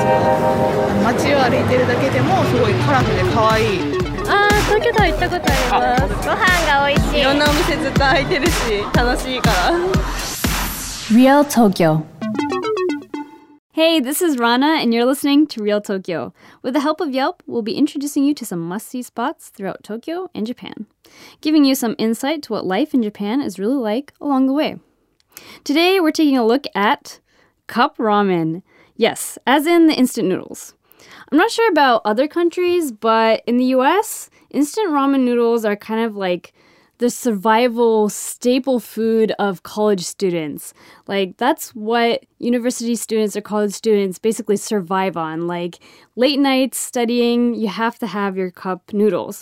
街を歩いてるだけでもすごいカラフルで可愛い。 東京タワー行ったことあります。ご飯が美味しい。 いろんなお店ずっと開いてるし楽しいから。 Real Tokyo. Hey, this is Rana, and you're listening to Real Tokyo. With the help of Yelp, we'll be introducing you to some must-see spots throughout Tokyo and Japan, giving you some insight to what life in Japan is really like along the way. Today, we're taking a look at cup ramen. Yes, as in the instant noodles. I'm not sure about other countries, but in the US, instant ramen noodles are kind of like the survival staple food of college students. Like, that's what university students or college students basically survive on. Like, late nights studying, you have to have your cup noodles.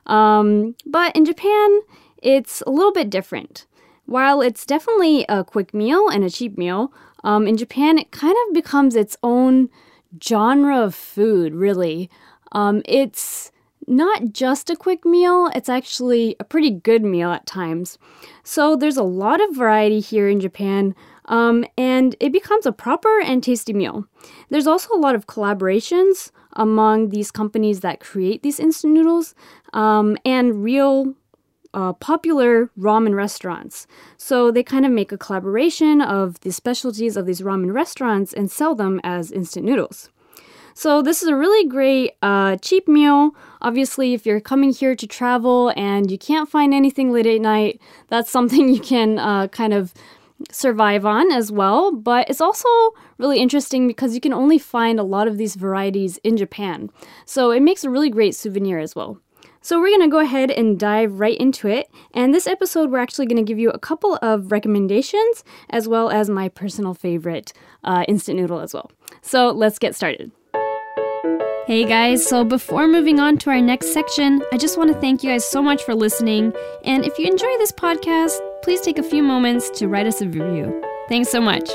But in Japan, it's a little bit different. While it's definitely a quick meal and a cheap meal, in Japan, it kind of becomes its own genre of food, really. It's not just a quick meal, it's actually a pretty good meal at times. So there's a lot of variety here in Japan, and it becomes a proper and tasty meal. There's also a lot of collaborations among these companies that create these instant noodles, and real popular ramen restaurants. So they kind of make a collaboration of the specialties of these ramen restaurants and sell them as instant noodles. So this is a really great cheap meal. Obviously, if you're coming here to travel and you can't find anything late at night, that's something you can kind of survive on as well. But it's also really interesting because you can only find a lot of these varieties in Japan. So it makes a really great souvenir as well. So we're going to go ahead and dive right into it. And this episode, we're actually going to give you a couple of recommendations as well as my personal favorite instant noodle as well. So let's get started. Hey guys, so before moving on to our next section, I just want to thank you guys so much for listening. And if you enjoy this podcast, please take a few moments to write us a review. Thanks so much.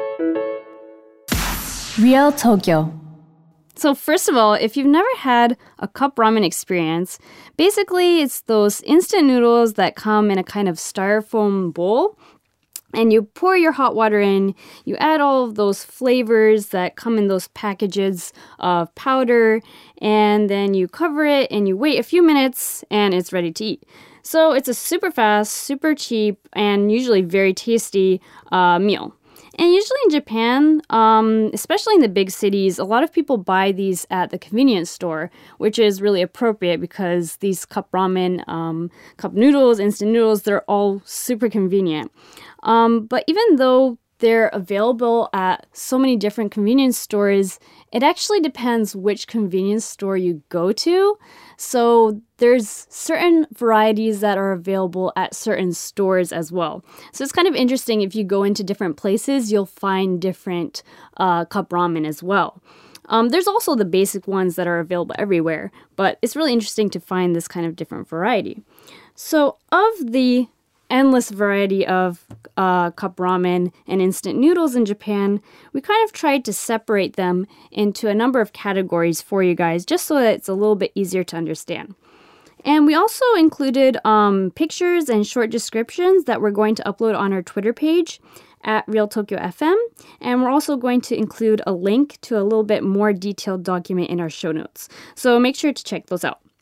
Real Tokyo. So first of all, if you've never had a cup ramen experience, basically it's those instant noodles that come in a kind of styrofoam bowl. And you pour your hot water in, you add all of those flavors that come in those packages of powder, and then you cover it and you wait a few minutes and it's ready to eat. So it's a super fast, super cheap, and usually very tasty meal. And usually in Japan, especially in the big cities, a lot of people buy these at the convenience store, which is really appropriate because these cup ramen, cup noodles, instant noodles, they're all super convenient. But even though they're available at so many different convenience stores, it actually depends which convenience store you go to. So there's certain varieties that are available at certain stores as well. So it's kind of interesting if you go into different places, you'll find different cup ramen as well. There's also the basic ones that are available everywhere, but it's really interesting to find this kind of different variety. So of the endless variety of cup ramen and instant noodles in Japan, we kind of tried to separate them into a number of categories for you guys, just so that it's a little bit easier to understand. And we also included pictures and short descriptions that we're going to upload on our Twitter page at Real Tokyo FM. And we're also going to include a link to a little bit more detailed document in our show notes. So make sure to check those out.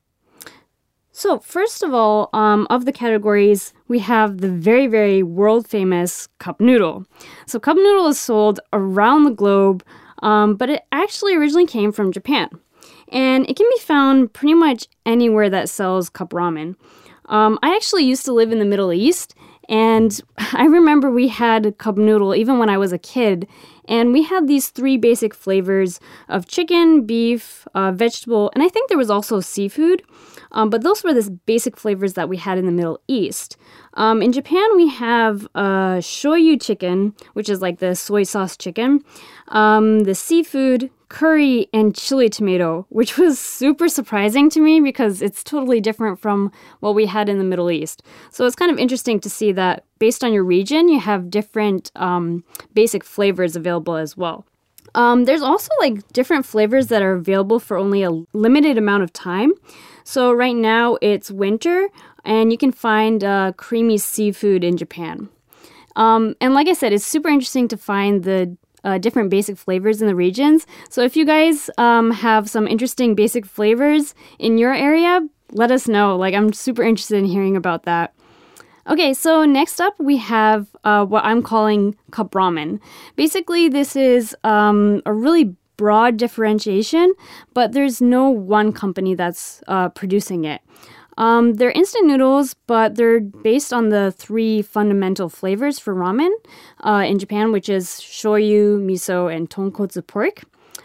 So first of all, of the categories, we have the very, very world-famous cup noodle. So cup noodle is sold around the globe, but it actually originally came from Japan. And it can be found pretty much anywhere that sells cup ramen. I actually used to live in the Middle East, and I remember we had cup noodle even when I was a kid. And we had these three basic flavors of chicken, beef, vegetable, and I think there was also seafood. But those were the basic flavors that we had in the Middle East. In Japan, we have shoyu chicken, which is like the soy sauce chicken, the seafood, curry, and chili tomato, which was super surprising to me because it's totally different from what we had in the Middle East. So it's kind of interesting to see that based on your region, you have different basic flavors available as well. There's also like different flavors that are available for only a limited amount of time. So right now it's winter and you can find creamy seafood in Japan. And like I said, it's super interesting to find the different basic flavors in the regions. So if you guys have some interesting basic flavors in your area, let us know. Like, I'm super interested in hearing about that. Okay, so next up we have what I'm calling cup ramen. Basically, this is a really broad differentiation, but there's no one company that's producing it. They're instant noodles, but they're based on the 3 fundamental flavors for ramen in Japan, which is shoyu, miso, and tonkotsu pork.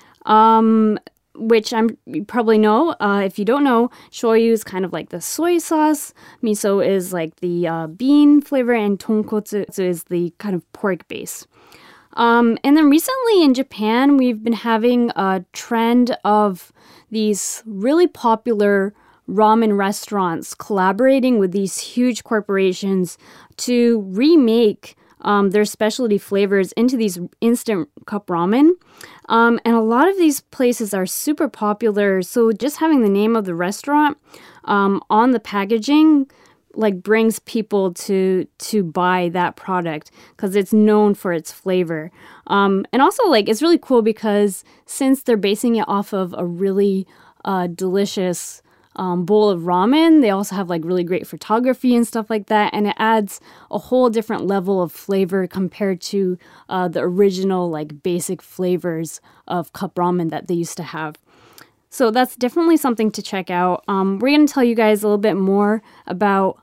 Which you probably know. If you don't know, shoyu is kind of like the soy sauce. Miso is like the bean flavor, and tonkotsu is the kind of pork base. And then recently in Japan, we've been having a trend of these really popular ramen restaurants collaborating with these huge corporations to remake their specialty flavors into these instant cup ramen. And a lot of these places are super popular. So just having the name of the restaurant on the packaging like brings people to buy that product because it's known for its flavor. And also like it's really cool because since they're basing it off of a really delicious bowl of ramen, they also have like really great photography and stuff like that, and it adds a whole different level of flavor compared to the original like basic flavors of cup ramen that they used to have. So that's definitely something to check out. We're going to tell you guys a little bit more about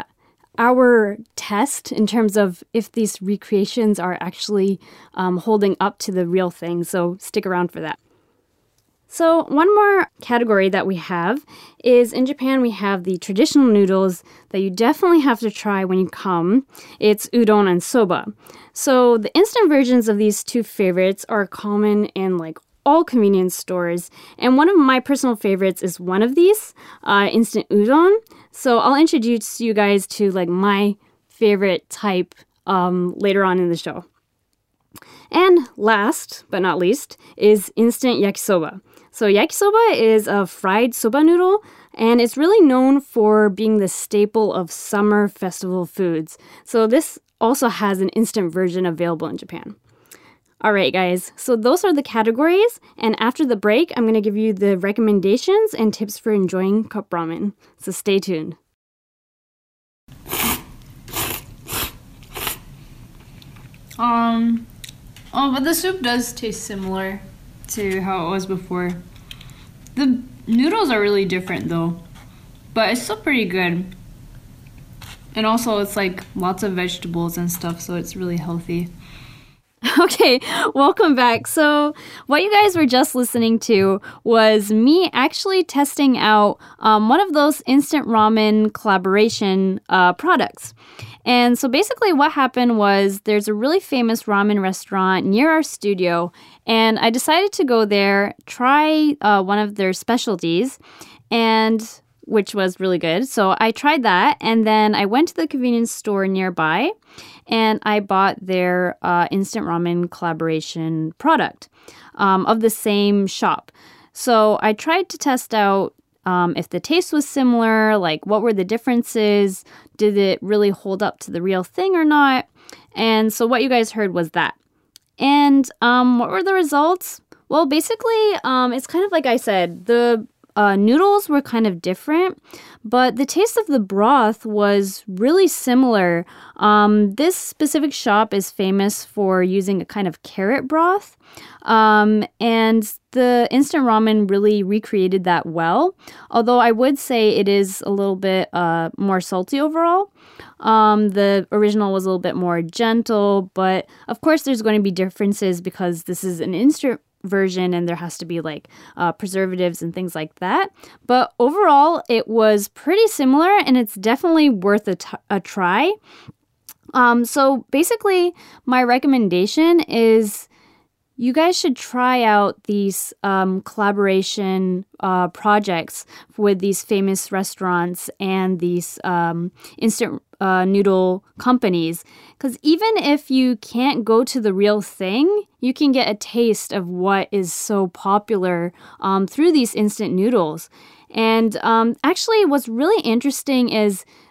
our test in terms of if these recreations are actually holding up to the real thing, so stick around for that. So one more category that we have is in Japan we have the traditional noodles that you definitely have to try when you come. It's udon and soba. So the instant versions of these 2 favorites are common in like all convenience stores. And one of my personal favorites is one of these, instant udon. So I'll introduce you guys to like my favorite type later on in the show. And last but not least is instant yakisoba. So yakisoba is a fried soba noodle, and it's really known for being the staple of summer festival foods. So this also has an instant version available in Japan. All right, guys, so those are the categories, and after the break, I'm going to give you the recommendations and tips for enjoying cup ramen. So stay tuned. But the soup does taste similar to how it was before. The noodles are really different though, but it's still pretty good. And also it's like lots of vegetables and stuff, so it's really healthy. Okay, welcome back. So what you guys were just listening to was me actually testing out one of those instant ramen collaboration products. And so basically what happened was there's a really famous ramen restaurant near our studio, and I decided to go there, try one of their specialties, and which was really good. So I tried that, and then I went to the convenience store nearby, and I bought their instant ramen collaboration product of the same shop. So I tried to test out if the taste was similar, like what were the differences, did it really hold up to the real thing or not? And so what you guys heard was that. And what were the results? Well, basically, it's kind of like I said, the noodles were kind of different, but the taste of the broth was really similar. This specific shop is famous for using a kind of carrot broth, and the instant ramen really recreated that well, although I would say it is a little bit more salty overall. The original was a little bit more gentle, but of course there's going to be differences because this is an instant version and there has to be like preservatives and things like that. But overall, it was pretty similar and it's definitely worth a try. So basically, my recommendation is you guys should try out these collaboration projects with these famous restaurants and these instant noodle companies. Because even if you can't go to the real thing, you can get a taste of what is so popular through these instant noodles. And actually, what's really interesting is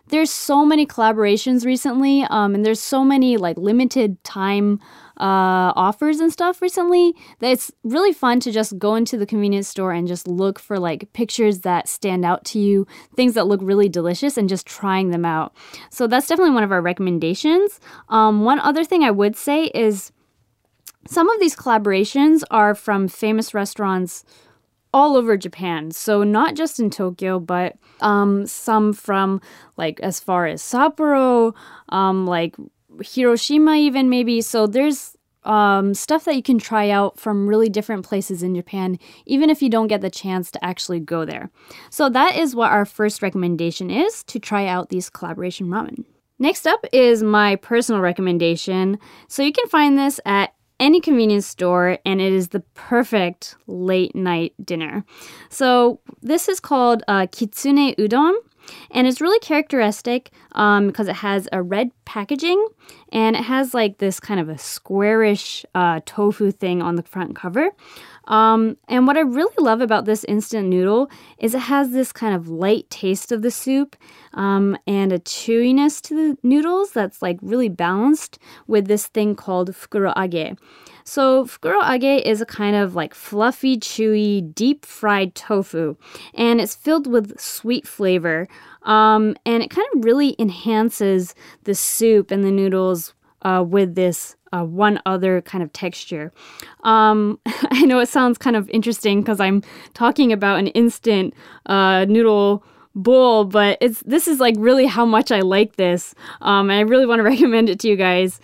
there's so many collaborations recently, and there's so many like limited time offers and stuff recently that it's really fun to just go into the convenience store and just look for like pictures that stand out to you, things that look really delicious, and just trying them out. So that's definitely one of our recommendations. One other thing I would say is some of these collaborations are from famous restaurants all over Japan. So not just in Tokyo, but some from like as far as Sapporo, like Hiroshima even maybe. So there's stuff that you can try out from really different places in Japan, even if you don't get the chance to actually go there. So that is what our first recommendation is, to try out these collaboration ramen. Next up is my personal recommendation. So you can find this at any convenience store, and it is the perfect late night dinner. So this is called Kitsune Udon, and it's really characteristic because it has a red packaging, and it has like this kind of a squarish tofu thing on the front cover. And what I really love about this instant noodle is it has this kind of light taste of the soup and a chewiness to the noodles that's like really balanced with this thing called fukuroage. So fukuroage is a kind of like fluffy, chewy, deep fried tofu, and it's filled with sweet flavor. And it kind of really enhances the soup and the noodles with this one other kind of texture. I know it sounds kind of interesting because I'm talking about an instant noodle bowl, but this is like really how much I like this. And I really want to recommend it to you guys.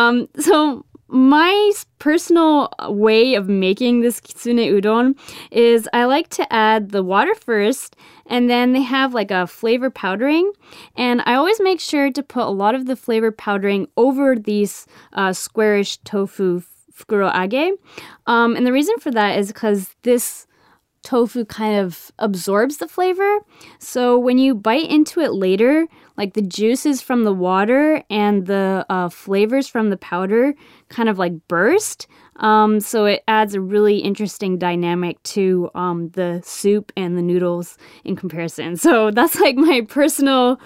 So my personal way of making this kitsune udon is I like to add the water first, and then they have like a flavor powdering, and I always make sure to put a lot of the flavor powdering over these squarish tofu fukuroage. And the reason for that is because this tofu kind of absorbs the flavor. So when you bite into it later, like the juices from the water and the flavors from the powder kind of like burst. So it adds a really interesting dynamic to the soup and the noodles in comparison. So that's like my personal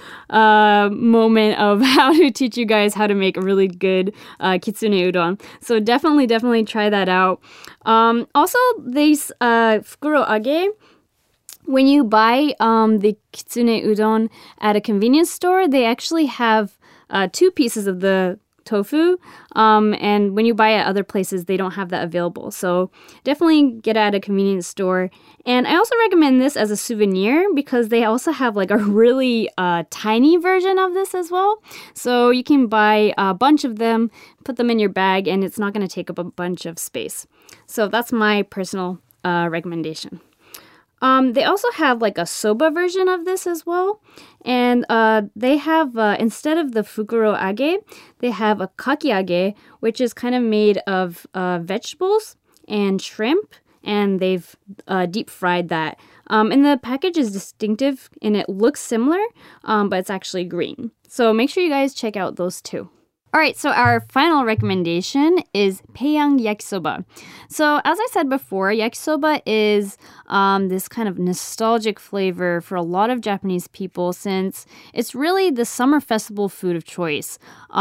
moment of how to teach you guys how to make a really good kitsune udon. So definitely try that out. Also, these fukuroage, when you buy the kitsune udon at a convenience store, they actually have 2 pieces of the tofu, and when you buy at other places, they don't have that available. So definitely get at a convenience store. And I also recommend this as a souvenir because they also have like a really tiny version of this as well. So you can buy a bunch of them, put them in your bag, and it's not going to take up a bunch of space. So that's my personal recommendation. They also have like a soba version of this as well. And they have, instead of the fukuroage, they have a kakiage, which is kind of made of vegetables and shrimp. And they've deep fried that. And the package is distinctive and it looks similar, but it's actually green. So make sure you guys check out those 2. All right, so our final recommendation is Paeyang Yakisoba. So as I said before, yakisoba is this kind of nostalgic flavor for a lot of Japanese people since it's really the summer festival food of choice.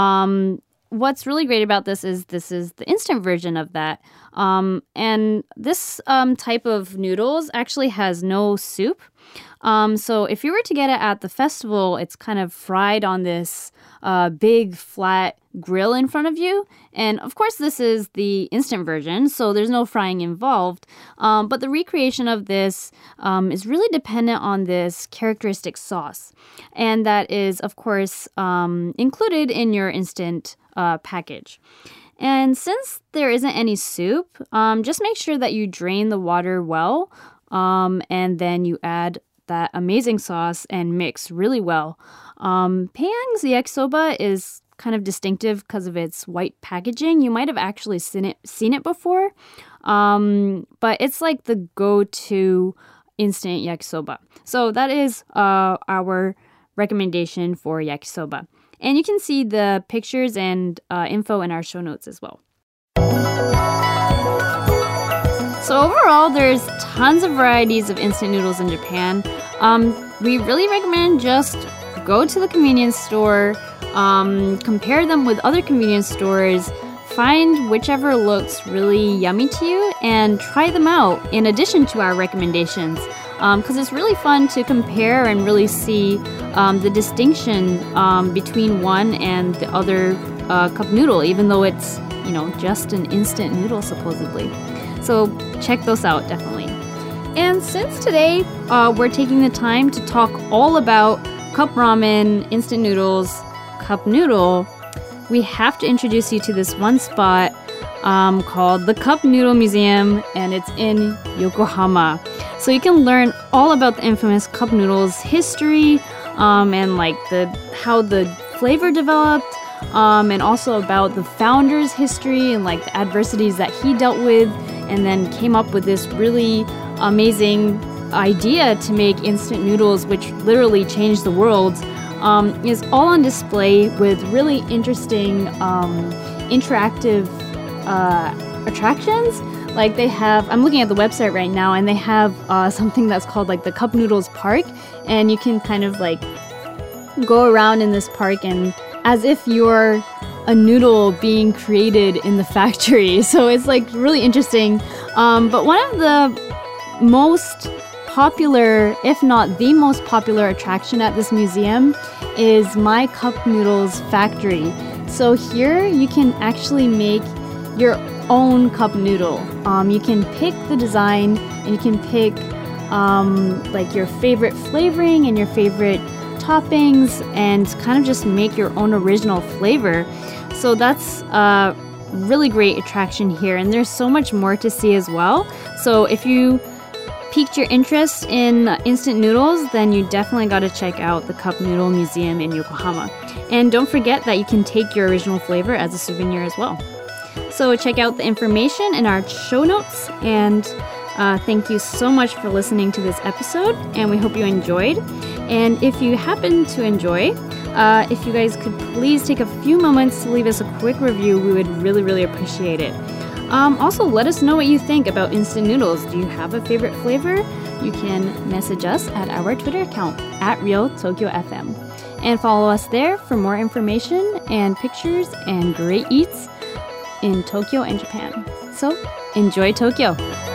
What's really great about this is the instant version of that. And this type of noodles actually has no soup. So if you were to get it at the festival, it's kind of fried on this big flat grill in front of you. And of course, this is the instant version, so there's no frying involved. But the recreation of this is really dependent on this characteristic sauce. And that is, of course, included in your instant package. And since there isn't any soup, just make sure that you drain the water well, and then you add that amazing sauce and mix really well. Paeyang's yakisoba is kind of distinctive because of its white packaging. You might have actually seen it before, but it's like the go-to instant yakisoba. So that is our recommendation for yakisoba. And you can see the pictures and info in our show notes as well. So overall, there's tons of varieties of instant noodles in Japan. We really recommend just go to the convenience store, compare them with other convenience stores, find whichever looks really yummy to you, and try them out in addition to our recommendations. Because it's really fun to compare and really see the distinction between one and the other cup noodle, even though it's, just an instant noodle supposedly. So check those out, definitely. And since today we're taking the time to talk all about cup ramen, instant noodles, cup noodle, we have to introduce you to this one spot called the Cup Noodle Museum, and it's in Yokohama. So you can learn all about the infamous cup noodles history and like how the flavor developed, and also about the founder's history and like the adversities that he dealt with, and then came up with this really amazing idea to make instant noodles, which literally changed the world. Is all on display with really interesting interactive attractions. Like they have, I'm looking at the website right now, and they have something that's called like the Cup Noodles Park, and you can kind of like go around in this park and as if you're a noodle being created in the factory. So it's like really interesting. But one of the most popular, if not the most popular attraction at this museum is My Cup Noodles Factory. So here you can actually make your own cup noodle. You can pick the design, and you can pick like your favorite flavoring and your favorite toppings, and kind of just make your own original flavor. So that's a really great attraction here, and there's so much more to see as well. So if you piqued your interest in instant noodles, then you definitely got to check out the Cup Noodle Museum in Yokohama. And don't forget that you can take your original flavor as a souvenir as well. So check out the information in our show notes, and thank you so much for listening to this episode, and we hope you enjoyed. And if you happen to enjoy, if you guys could please take a few moments to leave us a quick review, we would really, really appreciate it. Also, let us know what you think about instant noodles. Do you have a favorite flavor? You can message us at our Twitter account, @RealTokyoFM. And follow us there for more information and pictures and great eats in Tokyo and Japan. So, enjoy Tokyo!